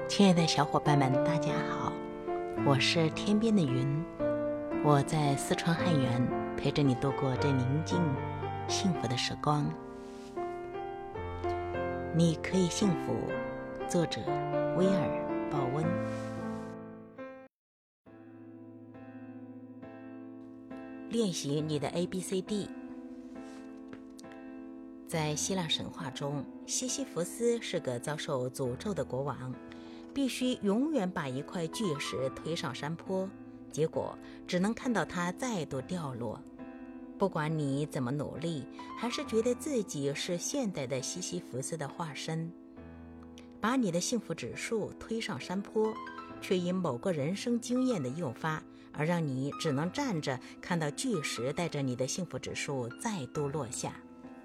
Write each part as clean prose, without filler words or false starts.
亲爱的小伙伴们，大家好，我是天边的云，我在四川汉源陪着你度过这宁静幸福的时光。你可以幸福，作者威尔·鲍温。练习你的 ABCD。在希腊神话中，西西弗斯是个遭受诅咒的国王，必须永远把一块巨石推上山坡，结果只能看到它再度掉落。不管你怎么努力，还是觉得自己是现代的西西弗斯的化身，把你的幸福指数推上山坡，却因某个人生经验的诱发，而让你只能站着看到巨石带着你的幸福指数再度落下。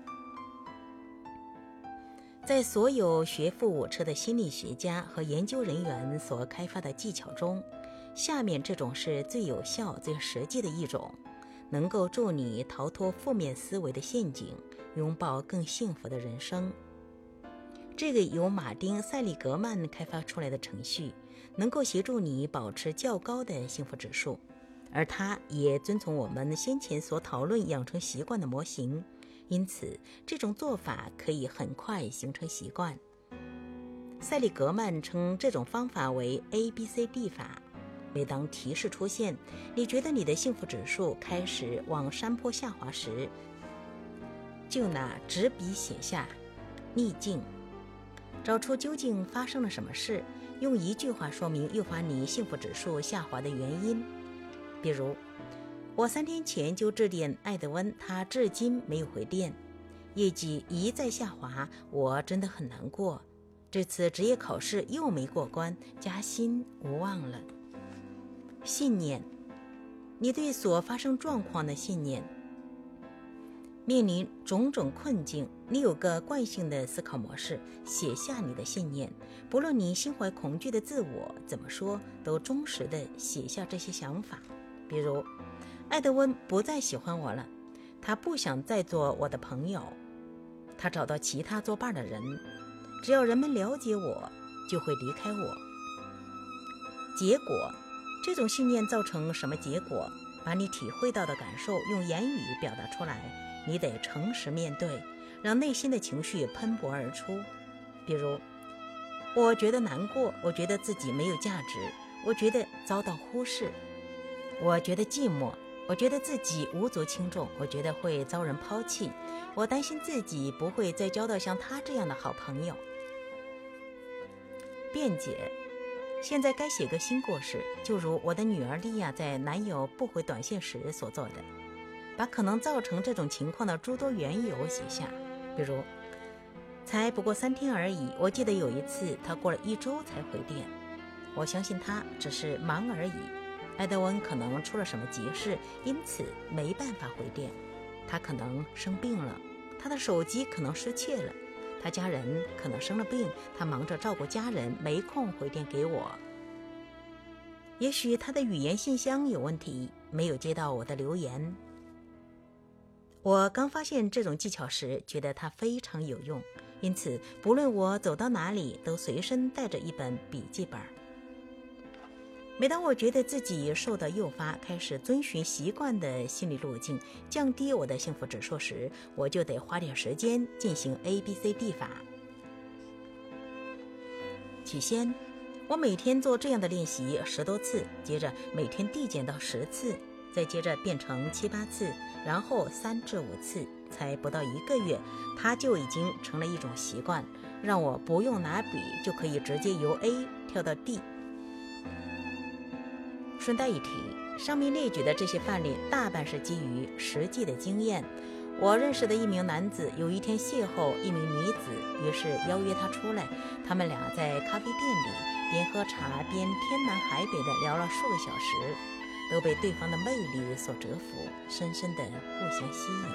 在所有学富五车的心理学家和研究人员所开发的技巧中，下面这种是最有效、最实际的一种，能够助你逃脱负面思维的陷阱，拥抱更幸福的人生。这个由马丁·塞利格曼开发出来的程序，能够协助你保持较高的幸福指数，而它也遵从我们先前所讨论养成习惯的模型。因此，这种做法可以很快形成习惯。塞利格曼称这种方法为 ABCD 法。每当提示出现，你觉得你的幸福指数开始往山坡下滑时，就拿纸笔写下逆境，找出究竟发生了什么事，用一句话说明诱发你幸福指数下滑的原因。比如，我3天前就致电艾德温，他至今没有回电，业绩一再下滑，我真的很难过。这次职业考试又没过关，加薪无望了。信念，你对所发生状况的信念。面临种种困境，你有个惯性的思考模式，写下你的信念，不论你心怀恐惧的自我怎么说，都忠实地写下这些想法。比如，艾德温不再喜欢我了，他不想再做我的朋友，他找到其他作伴的人，只要人们了解我，就会离开我。结果，这种信念造成什么结果？把你体会到的感受用言语表达出来，你得诚实面对，让内心的情绪喷薄而出。比如，我觉得难过，我觉得自己没有价值，我觉得遭到忽视，我觉得寂寞，我觉得自己无足轻重，我觉得会遭人抛弃，我担心自己不会再交到像他这样的好朋友。辩解，现在该写个新故事，就如我的女儿莉亚在男友不回短信时所做的，把可能造成这种情况的诸多缘由写下。比如，才不过3天而已，我记得有一次他过了1周才回电，我相信他只是忙而已。艾德温可能出了什么急事，因此没办法回电。他可能生病了，他的手机可能失窃了，他家人可能生了病，他忙着照顾家人，没空回电给我。也许他的语言信箱有问题，没有接到我的留言。我刚发现这种技巧时，觉得它非常有用，因此不论我走到哪里，都随身带着一本笔记本。每当我觉得自己受到诱发，开始遵循习惯的心理路径，降低我的幸福指数时，我就得花点时间进行 ABCD 法。起先，我每天做这样的练习10多次，接着每天递减到10次，再接着变成7、8次，然后3至5次，才不到1个月，它就已经成了一种习惯，让我不用拿笔就可以直接由 A 跳到 D。顺带一提，上面列举的这些范例大半是基于实际的经验。我认识的一名男子有一天邂逅一名女子，于是邀约她出来。他们俩在咖啡店里边喝茶边天南海北地聊了数个小时，都被对方的魅力所折服，深深地互相吸引。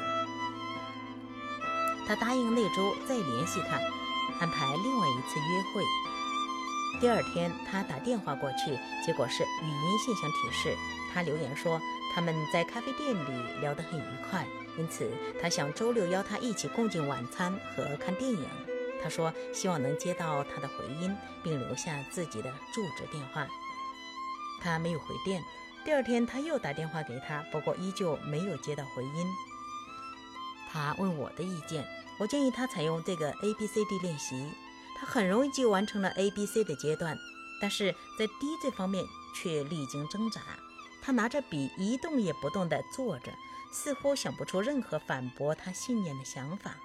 他答应那周再联系他，安排另外一次约会。第2天他打电话过去，结果是语音信箱提示。他留言说他们在咖啡店里聊得很愉快，因此他想周6邀他一起共进晚餐和看电影。 他说希望能接到他的回音，并留下自己的住址电话。他没有回电，第二天他又打电话给他，不过依旧没有接到回音。他问我的意见，我建议他采用这个 ABCD 练习，他很容易就完成了 ABC 的阶段，但是在 D 这方面却历经挣扎。他拿着笔一动也不动地坐着，似乎想不出任何反驳他信念的想法。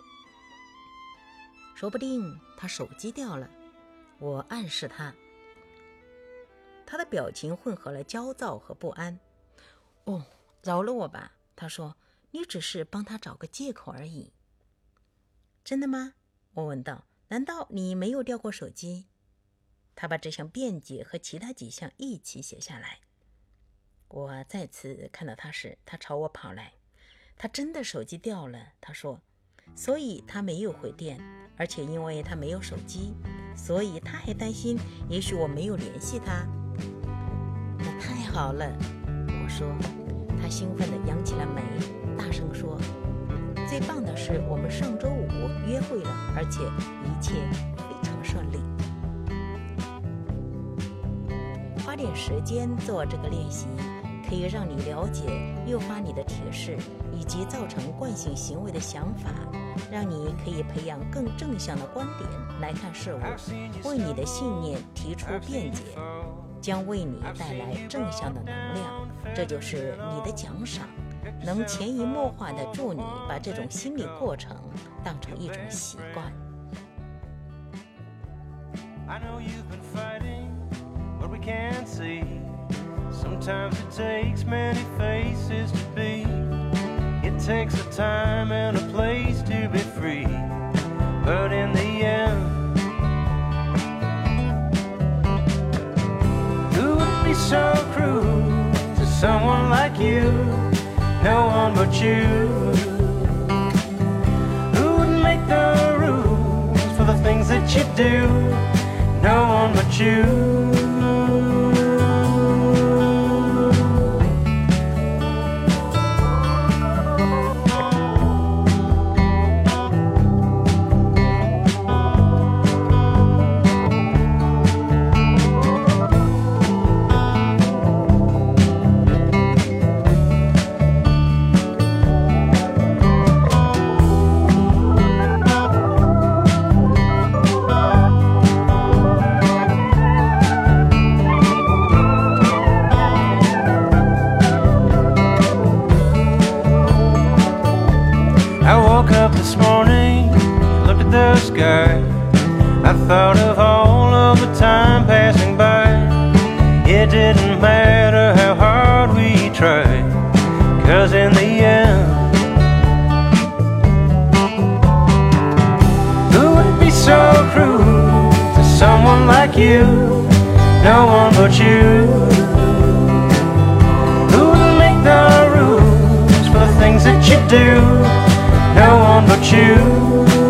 说不定他手机掉了，我暗示他。他的表情混合了焦躁和不安。哦，饶了我吧，他说，你只是帮他找个借口而已。真的吗？我问道，难道你没有掉过手机？他把这项辩解和其他几项一起写下来。我再次看到他时，他朝我跑来。他真的手机掉了，他说，所以他没有回电，而且因为他没有手机，所以他还担心也许我没有联系他。那太好了，我说。他兴奋地扬起了眉，大声说，最棒的是我们上周5约会了，而且一切非常顺利。花点时间做这个练习，可以让你了解诱发你的铁势以及造成惯性行为的想法，让你可以培养更正向的观点来看事物，为你的信念提出辩解，将为你带来正向的能量。这就是你的奖赏，能潜移默化地助你把这种心理过程当成一种习惯。 I know you've been fighting what we can't see. Sometimes it takes many faces to be. It takes a time and a place to be free. But in the end, who would be so cruel to someone like you? No one but you. Who would make the rules for the things that you do? No one but you. I woke up this morning, looked at the sky. I thought of all of the time passing by. It didn't matter how hard we tried, 'cause in the end, who would be so cruel to someone like you? No one but you. Who would make the rules for the things that you do? No one but you.